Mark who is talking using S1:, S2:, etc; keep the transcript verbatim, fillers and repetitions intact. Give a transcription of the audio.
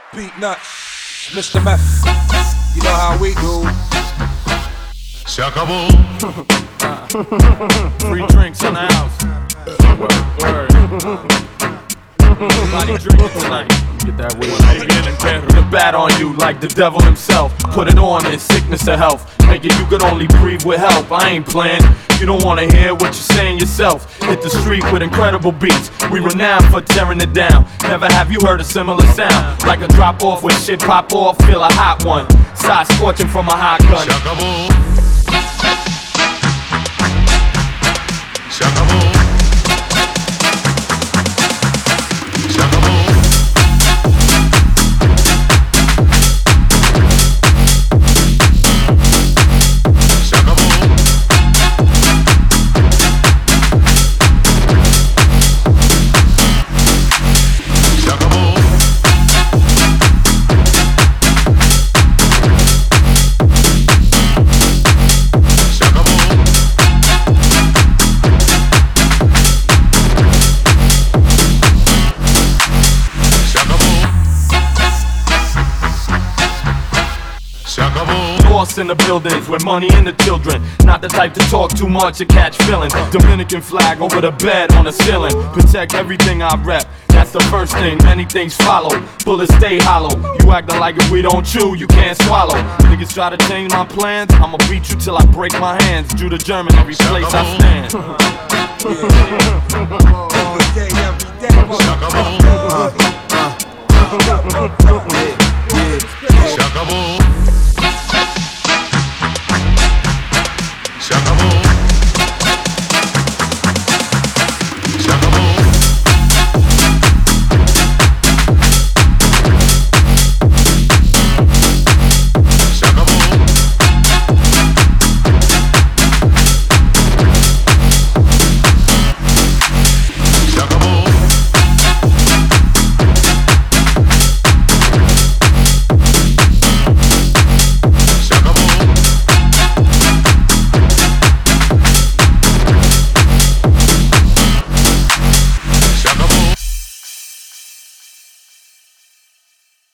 S1: Beat Nut, Mister Meth, you know how we do.
S2: Se acabó.
S3: Free drinks in the house. Word, word. Everybody drinking tonight. Get that way. The bat on you like the devil himself. Put it on in sickness or health. Make it you could only breathe with help. I ain't playing. You don't wanna hear what you're saying yourself. Hit the street with incredible beats. We renowned for tearing it down. Never have you heard a similar sound. Like a drop off when shit pop off. Feel a hot one. Side scorching from a hot gun.
S2: Se acabó. Se acabó. Se acabó. Se acabó. Se acabó. Se acabó. Se acabó.
S3: Lost in the buildings with money and the children. Not the type to talk too much or catch feelings. Dominican flag over the bed on the ceiling. Protect everything I rep. That's the first thing, many things follow. Bullets stay hollow. You acting like if we don't chew, you can't swallow. Niggas try to change my plans. I'ma beat you till I break my hands. Jew to German every place I stand.
S1: Every day, every day,
S2: Se acabó. Se acabó.